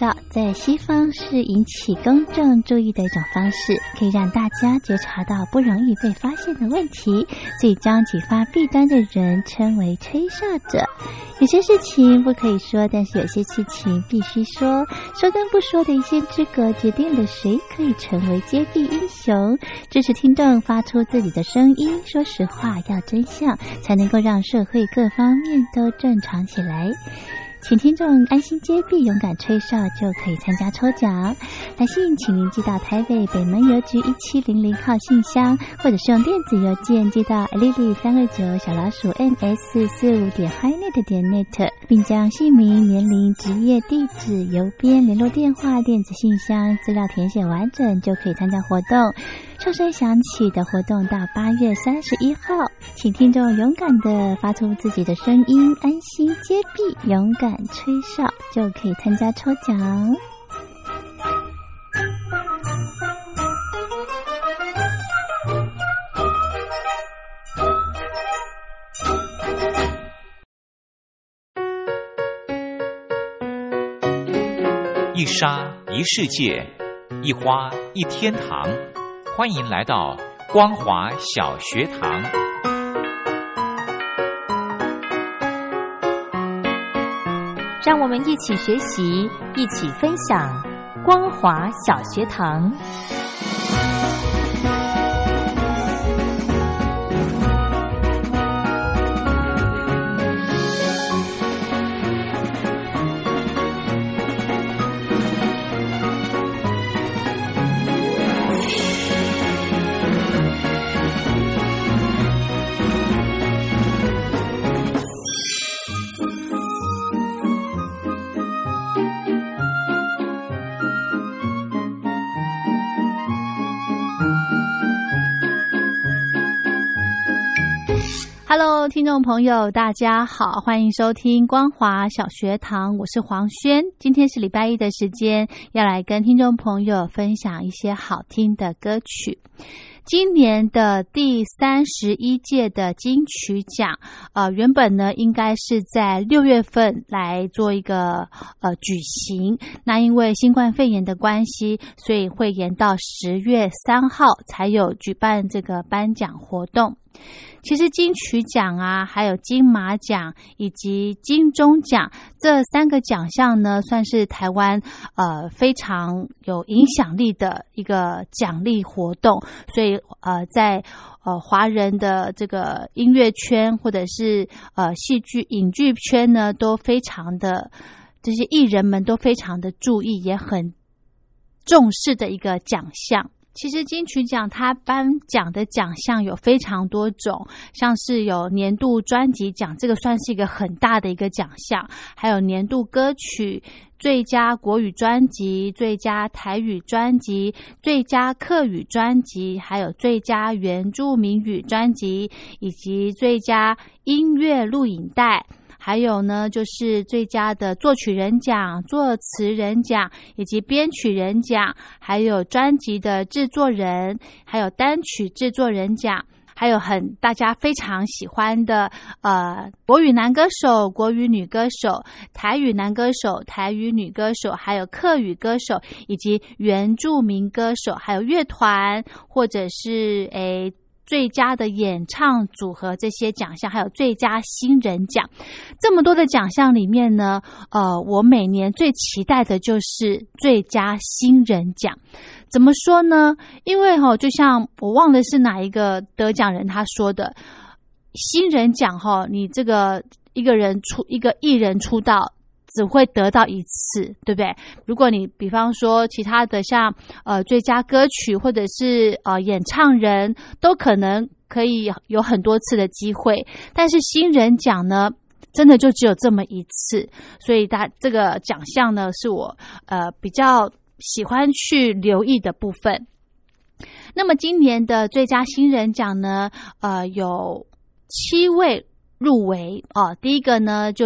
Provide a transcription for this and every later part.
绍在西方是引起公众注意的一种方式，可以让大家觉察到不容易被发现的问题，所以将启发弊端的人称为吹哨者。有些事情不可以说，但是有些事情必须说，说跟不说的一线之隔决定了谁可以成为揭弊英雄。支持听众发出自己的声音，说实话，要真相，才能够让社会各方面都正常起来。请听众安心揭弊，勇敢吹哨就可以参加抽奖。来信请您寄到台北北门邮局1700号信箱，或者是用电子邮件寄到 lily329@ms45.highnet.net， 并将姓名、年龄、职业、地址、邮编、联络电话、电子信箱资料填写完整，就可以参加活动。哨声响起的活动到8月31号，请听众勇敢地发出自己的声音，安心揭弊，勇敢吹哨，就可以参加抽奖。 一沙一世界，一花一天堂。欢迎来到光华小学堂。 让我们一起学习，一起分享光华小学堂。 Hello， 听众朋友，大家好，欢迎收听光华小学堂，我是黄轩。今天是礼拜一的时间，要来跟听众朋友分享一些好听的歌曲。今年的第31届的金曲奖，原本呢应该是在6月份来做一个举行，那因为新冠肺炎的关系，所以会延到10月3号才有举办这个颁奖活动。其实金曲奖啊，还有金马奖以及金钟奖这3个奖项呢，算是台湾非常有影响力的一个奖励活动，所以在华人的这个音乐圈或者是戏剧影剧圈呢，都非常的这些艺人们都非常的注意，也很重视的一个奖项。其实金曲奖它颁奖的奖项有非常多种，像是有年度专辑奖，这个算是一个很大的一个奖项，还有年度歌曲、最佳国语专辑、最佳台语专辑、最佳客语专辑，还有最佳原住民语专辑，以及最佳音乐录影带，还有呢就是最佳的作曲人奖、作词人奖以及编曲人奖，还有专辑的制作人，还有单曲制作人奖，还有大家非常喜欢的国语男歌手、国语女歌手、台语男歌手、台语女歌手，还有客语歌手以及原住民歌手，还有乐团或者是最佳的演唱组合这些奖项，还有最佳新人奖。这么多的奖项里面呢，我每年最期待的就是最佳新人奖。怎么说呢？因为就像我忘了是哪一个得奖人他说的，新人奖你这个一个艺人出道只会得到一次，对不对？如果你比方说其他的像最佳歌曲或者是演唱人，都可能可以有很多次的机会，但是新人奖呢，真的就只有这么一次，所以这个奖项呢是我比较喜欢去留意的部分。那么今年的最佳新人奖呢，有7位入围第一个呢就是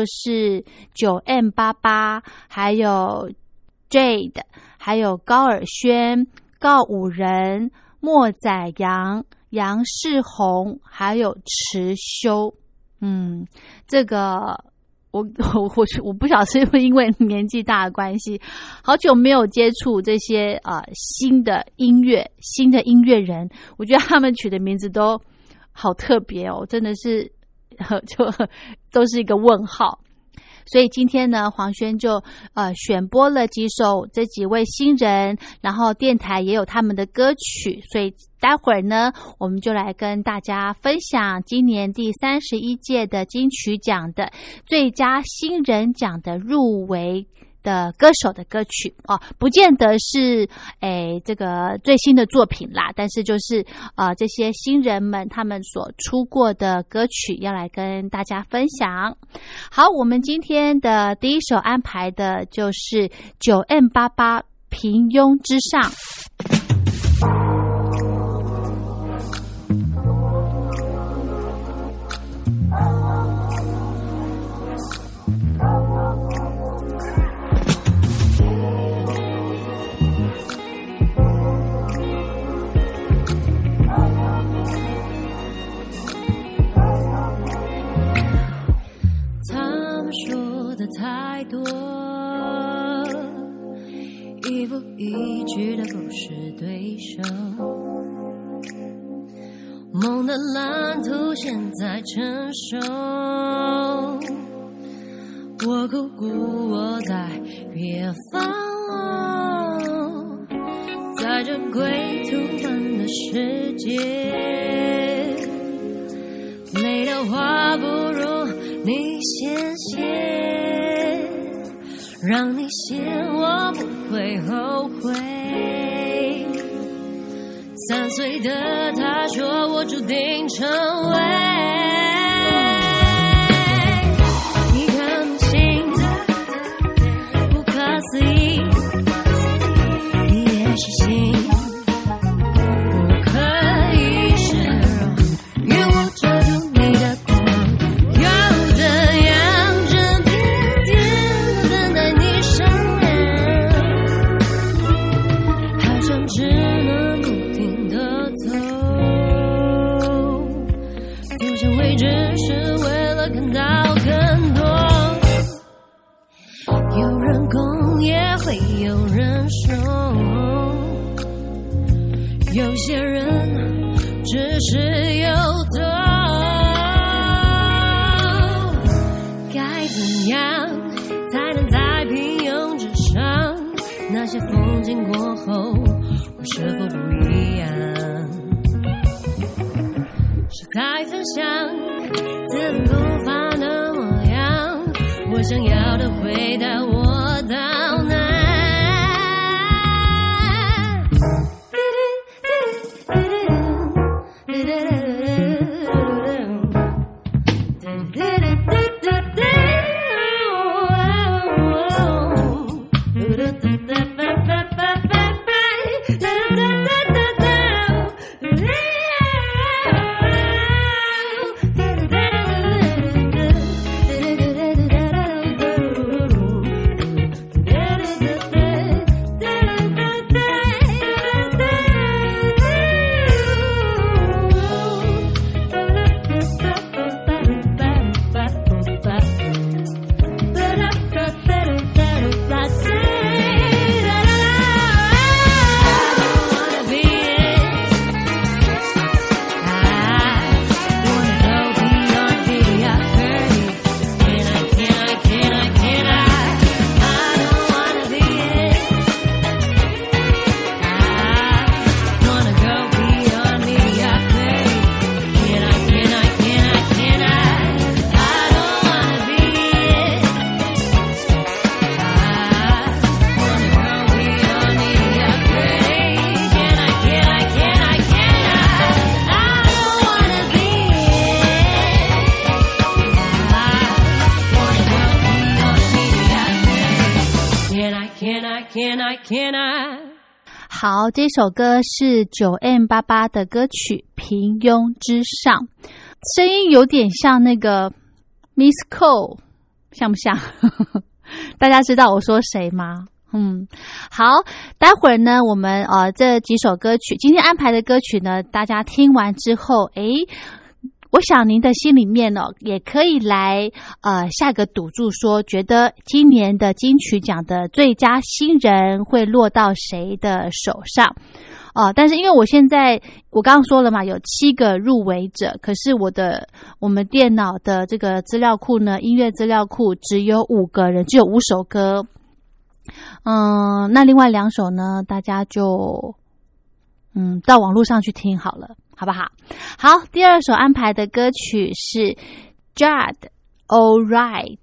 9M88， 还有 Jade， 还有高尔宣、告五人、莫宰阳、杨世宏，还有池修。这个我不晓得是不是因为年纪大的关系，好久没有接触这些新的音乐人，我觉得他们取的名字都好特别哦，真的是就都是一个问号。所以今天呢，黄轩就选播了几首这几位新人，然后电台也有他们的歌曲，所以待会儿呢，我们就来跟大家分享今年第31届的金曲奖的最佳新人奖的入围的歌手的歌曲哦，不见得是这个最新的作品啦，但是就是这些新人们他们所出过的歌曲要来跟大家分享。好，我们今天的第一首安排的就是 9M88 平庸之上。 说的太多，一步一句的不是对手，梦的蓝图现在成熟，我苦苦我在远方，在这归途般的世界，累的话不如你先让你先，我不会后悔。3岁的他说我注定成为一颗明星的不可思议，你也是心不可以示弱，愿我遮住你的光，又怎样整天天等待你上演，好像只能不停地走，走向未知是为了看到更多，有人攻也会有人守，有些人只是游走，该怎样才能在平庸之上，那些风景过后我是否不一样，是在分享自然不凡的模样，我想要的回答我到哪， 好，这首歌是 9M88 的歌曲《平庸之上》，声音有点像那个 Miss Cole， 像不像？大家知道我说谁吗？好，待会儿呢，我们这几首歌曲，今天安排的歌曲呢，大家听完之后， 我想您的心里面哦，也可以来下个赌注说，觉得今年的金曲奖的最佳新人会落到谁的手上。但是因为我刚刚说了嘛，有7个入围者，可是我们电脑的这个资料库呢，音乐资料库只有5个人，只有5首歌。那另外2首呢，大家就到网络上去听好了，好不好？好，第2首安排的歌曲是 Judd All Right。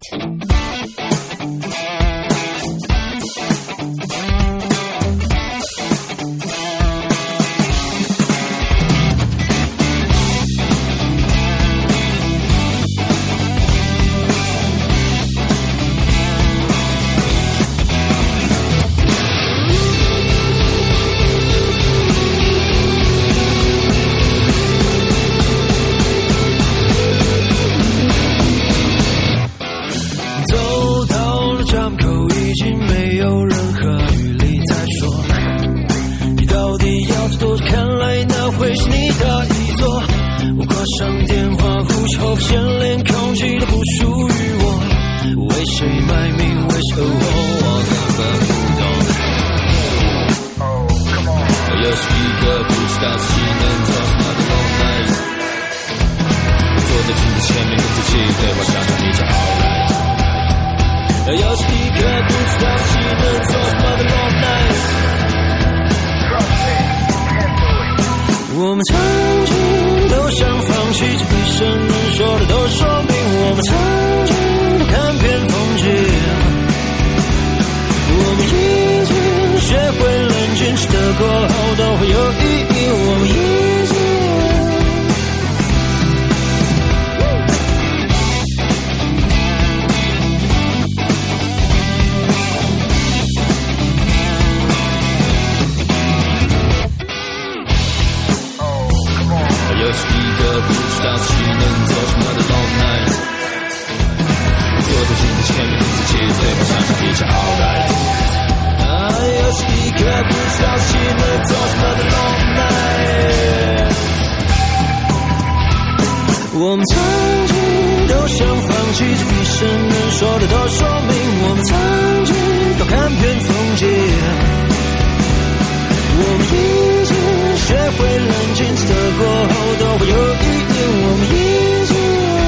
上电话呼求，现连空气都不属于我，为谁卖命，为谁我根本不懂。我又是一个不知道自己能做什么的 long night， 坐在镜子前面跟自己对话，想想你就 alright。我又是一个不知道自己能做什么的 long night。我们曾经都想放弃，这一生能说的都说明。我们曾经都看遍风景，我们已经学会冷静，吃得过后都会有意义。我们已经又是一个不知道自己能做什么的 long night， 坐在镜子前面跟自己对话，想想一切 alright。又是一个不知道自己能做什么的 long night。我们曾经都想放弃，这一生能说的都说明。我们曾经都看遍风景，我们已经学会冷静，吃得过后都会有意义。我们已经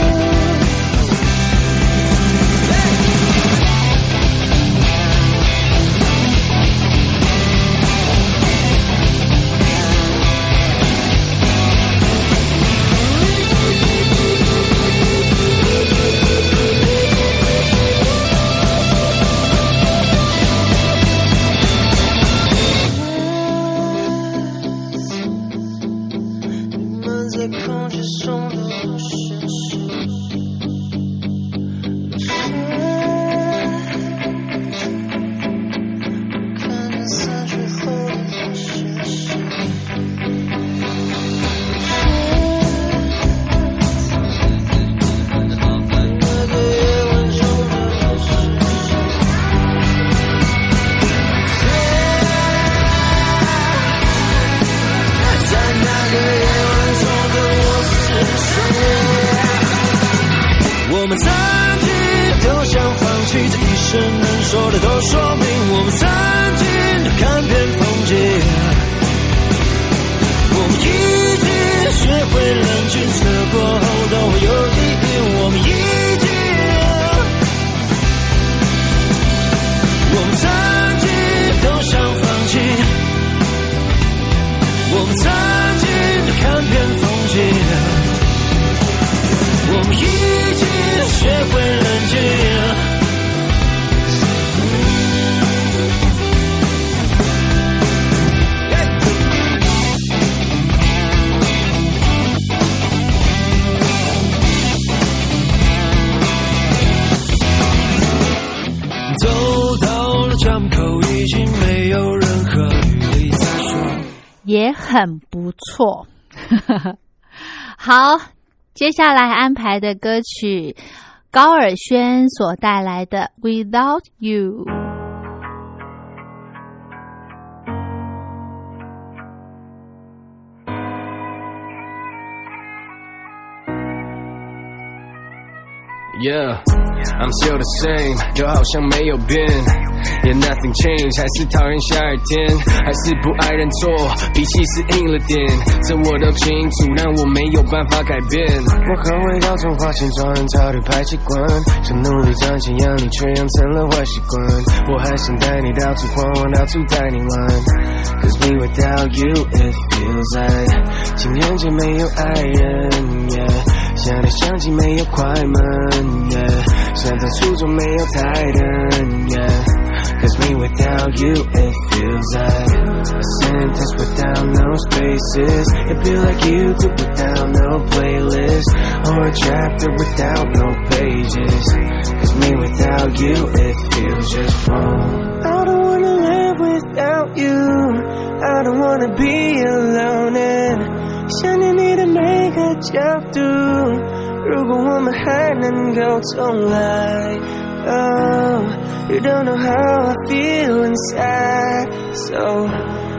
也很不错。好，接下来安排的歌曲，高尔宣所带来的 Without You。 Yeah, I'm still the same， 就好像没有变。Yeah, nothing changed， 还是讨厌下雨天，还是不爱认错，脾气是硬了点，这我都清楚，但我没有办法改变。我很会到处花钱装人潮的坏习惯，想努力赚钱养你，却养成了坏习惯。我还想带你到处晃晃，到处带你玩。Cause me without you, it feels like 情人节没有爱人 ，yeah， 想来想去没有快门 ，yeah， 想在初中没有台灯 ，yeah。Cause me without you, it feels like a sentence without no spaces. It feel like YouTube without no playlist, or a chapter without no pages. Cause me without you, it feels just wrong. I don't wanna live without you. I don't wanna be alone. And 想念你的每个角度，如果我们还能够重来。Oh, you don't know how I feel inside, so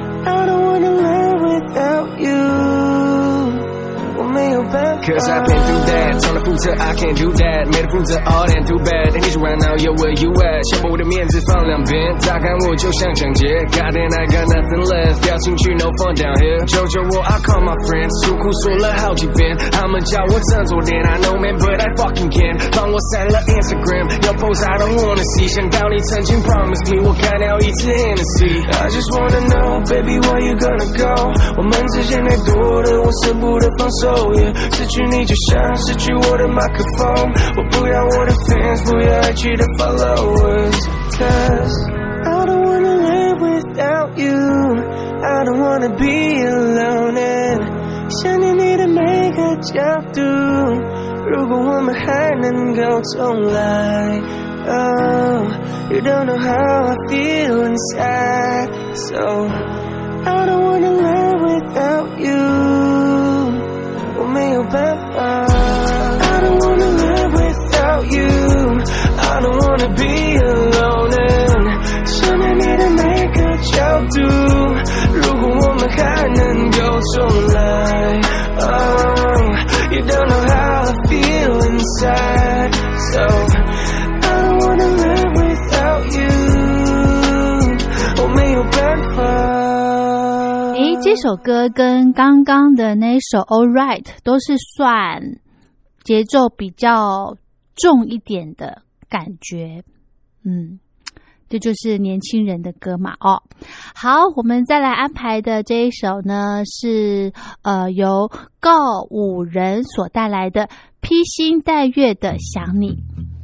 I don't wanna live without you. 我没有办法 Cause I've been through that 从来负责 I can't do that 没得负责 all that too bad 你就 right now yo where you at 想把我的面子放两边打开我就像抢劫 God damn I got nothing left 掉进去 no fun down here 求求我 I call my friends 诉苦说了好几遍他们叫我振作点 I know man but I fucking can't 帮我删了 Instagram 要 post I don't wanna see 想到你曾经 promise me 我干掉一次 Hennessy I just wanna know baby where you gonna go 我们之间太多的我舍不得放手失去你就像失去我的麦克风我不要我的 fans 不要爱去的 followers Cause I don't wanna live without you I don't wanna be alone and 想念你的每个角度如果我们还能够重来 Oh, you don't know how I feel inside So I don't wanna live without you我没有办法 I don't wanna live without you I don't wanna be alone and 想念你的每个角度如果我们还能够重来 Oh, you don't know how I feel inside So I don't wanna live without you 我没有办法这首歌跟刚刚的那首 All Right 都是算节奏比较重一点的感觉这就是年轻人的歌嘛好我们再来安排的这一首呢是由告五人所带来的披星戴月的想你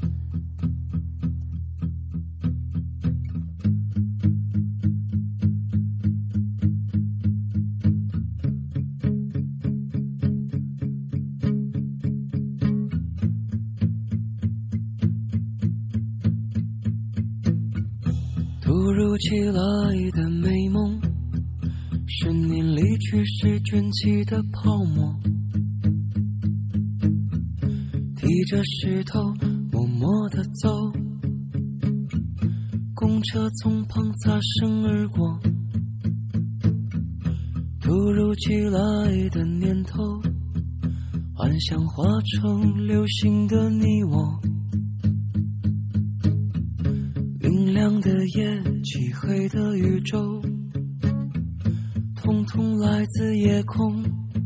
突如其来的美梦是你离去时卷起的泡沫提着石头默默地走公车从旁擦身而过突如其来的念头幻想化成流星的你我明亮的夜漆黑的宇宙统统来自夜空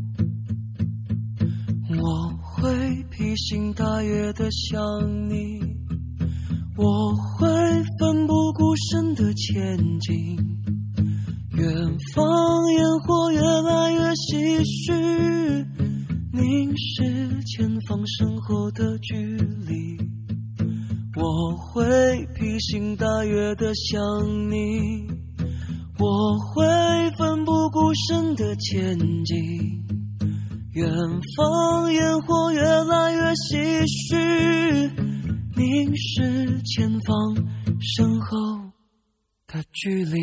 我会披星戴月地想你我会奋不顾身地前进远方烟火越来越唏嘘凝视前方身后的距离我会披星戴月地想你我会奋不顾身地前进远方烟火越来越唏嘘凝视前方身后的距离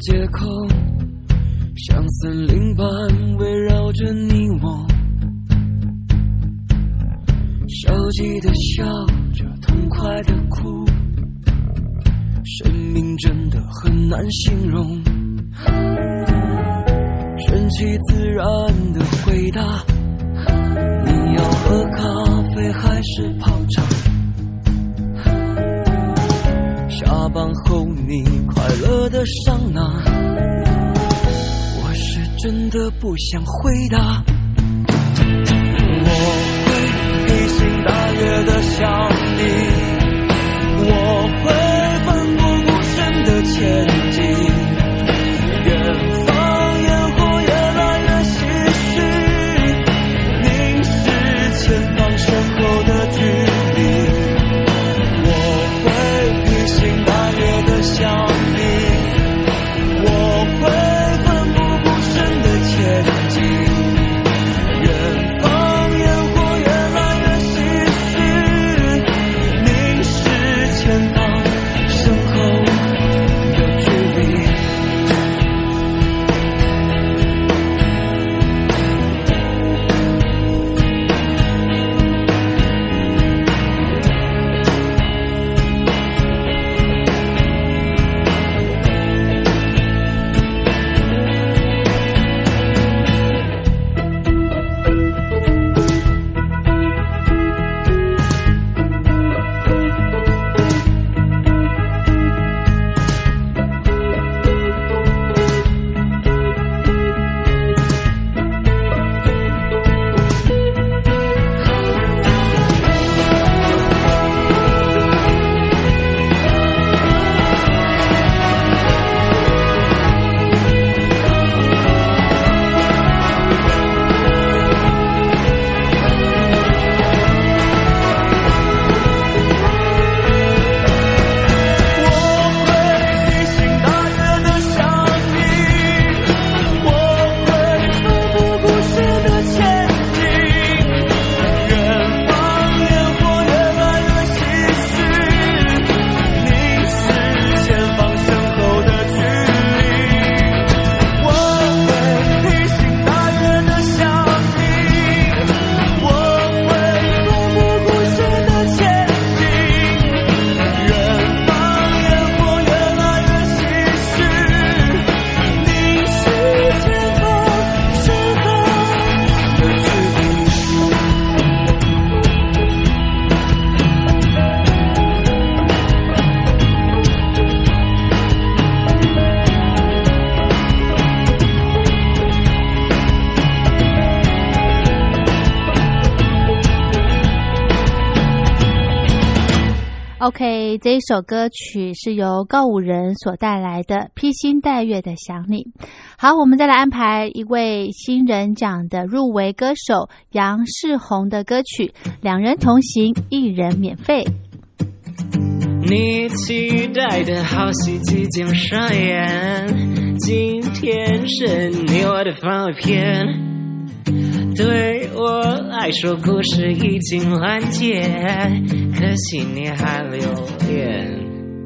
借口，像森林般围绕着你我，消极的笑着，痛快的哭，生命真的很难形容。顺其自然的回答，你要喝咖啡还是泡茶？下班后你快乐的桑拿，我是真的不想回答。我会披星戴月的想你，我会奋不顾身的前进，远方烟火越来越唏嘘，凝视前方身后的距离。我会披星戴月的想你，我会奋不顾身的前进，远方烟火越来越唏嘘，凝视前方身后的距离。 OK， 这一首歌曲是由告五人所带来的《披星戴月的想你》。好，我们再来安排一位新人奖的入围歌手杨世宏的歌曲《两人同行，一人免费》。 你期待的好戏即将上演，今天是你我的番外篇。对我来说故事已经完结，可惜你还留恋。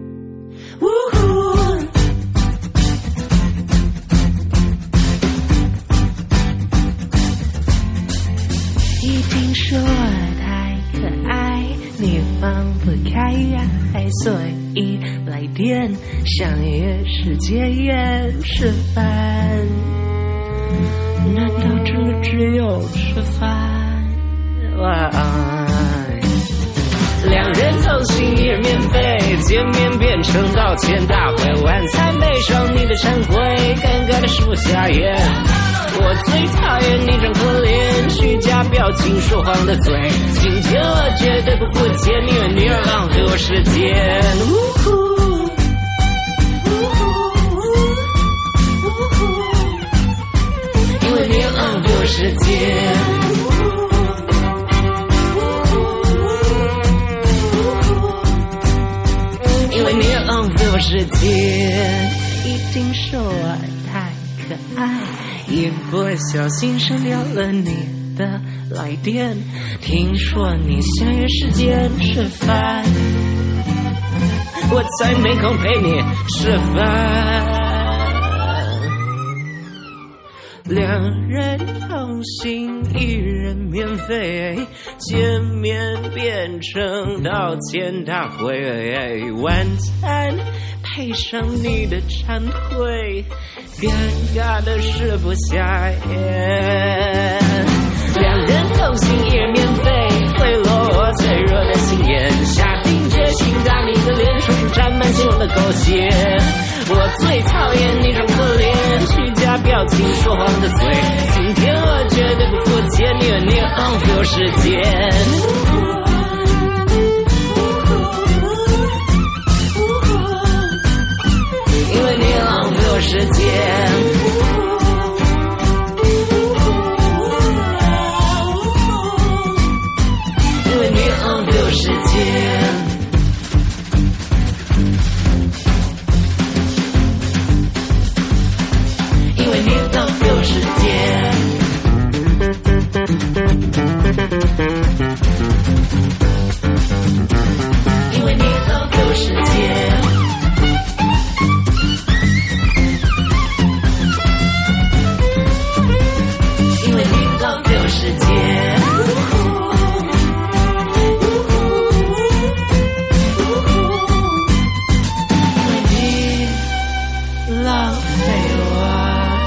一定是我太可爱，你放不开所以来电，相约时间也吃饭，难道真的只有吃饭？两人同行一人免费，见面变成道歉大会，晚餐配上你的忏悔，尴尬的是不下咽。我最讨厌你装可怜，虚假表情说谎的嘴，今天我绝对不付钱，因为你而浪费我时间。因为你浪费我时间。因为你浪费我时间，一定是我太可爱，一不小心删掉了你的来电。听说你相约时间吃饭，我才没空陪你吃饭。 两人同行，一人免费，见面变成道歉大会，晚餐配上你的忏悔，尴尬的食不下咽。两人同行，一人免费，贿赂我脆弱的心眼，下定决心让你的脸书沾满新闻的狗血。我最讨厌那种可怜虚假表情说谎的嘴，今天我绝对不付钱，因为你浪费我时间，因为你浪费我时间，因为你浪费我时间。因为你浪费我时间，因为你浪费我时间，因为你浪费我。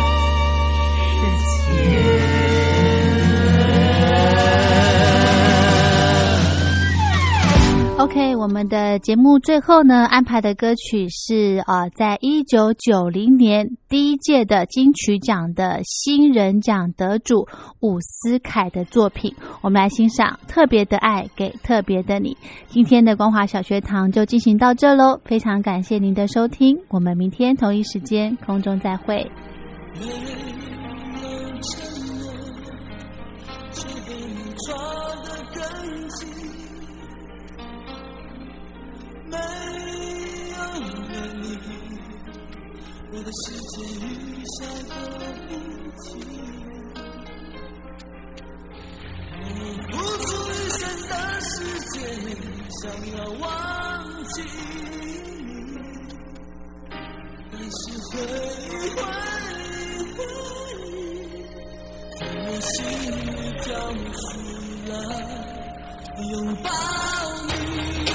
OK， 我们的节目最后呢安排的歌曲是在1990年第一届的金曲奖的新人奖得主伍思凯的作品，我们来欣赏《特别的爱给特别的你》。今天的光华小学堂就进行到这咯，非常感谢您的收听，我们明天同一时间空中再会。 没有了你，我的世界雨下个不停。我付出一生的时间，想要忘记你，但是回忆从我心里跳出来，拥抱你。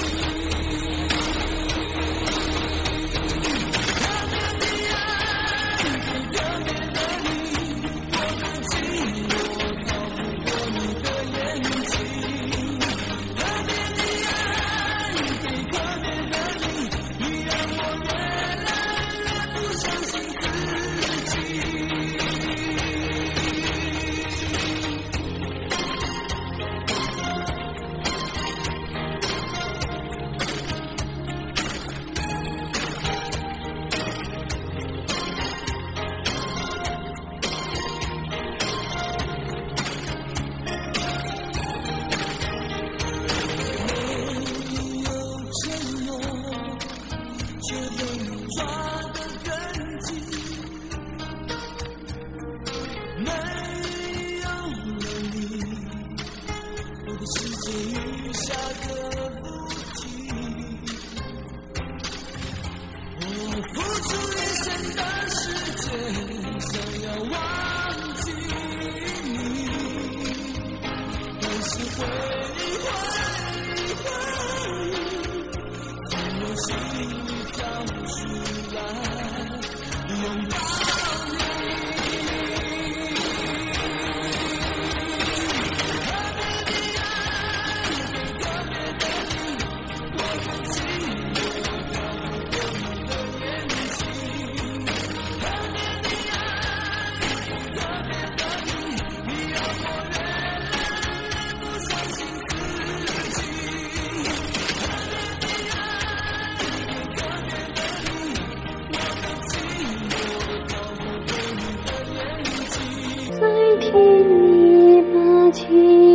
在天里把情